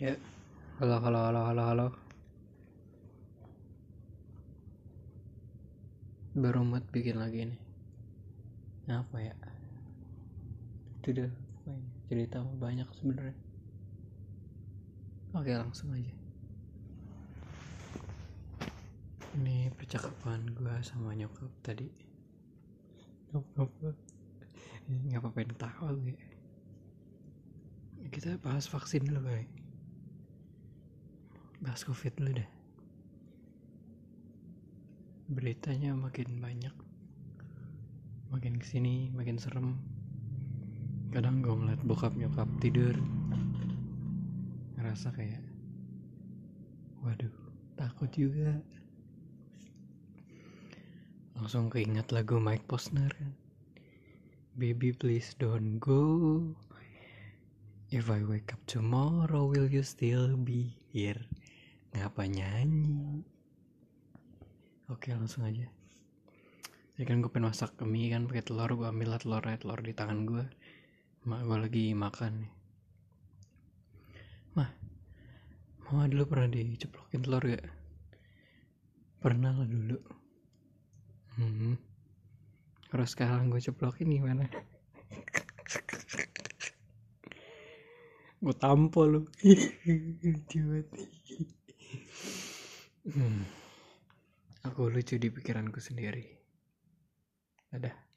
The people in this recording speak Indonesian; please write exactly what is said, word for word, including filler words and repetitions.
Ya, halo, halo, halo, halo, halo. Baru mood bikin lagi nih. Apa ya? Itu udah pokoknya cerita banyak sebenarnya. Oke, langsung aja. Ini percakapan gue sama nyokap tadi. Apa? Nggak apa-apa yang tahu ya. Kita bahas vaksin dulu, guys. Bahas covid dulu deh. Beritanya makin banyak, makin kesini makin serem. Kadang gue ngeliat bokap nyokap tidur, ngerasa kayak waduh, takut juga. Langsung keinget lagu Mike Posner kan, Baby please don't go, if I wake up tomorrow will you still be here. Ngapa nyanyi? Oke, langsung aja. Jadi kan gue pengen masak mie kan pakai telur. Gue ambil lah telurnya, telur di tangan gue. Mak gue lagi makan nih. Mah, mama dulu pernah diceplokin telur gak? Pernah lah dulu. Hmm. Terus sekarang gue ceplokin gimana? Gue tampol lu. Lucu banget. hmm. Aku lucu di pikiranku sendiri. Dadah.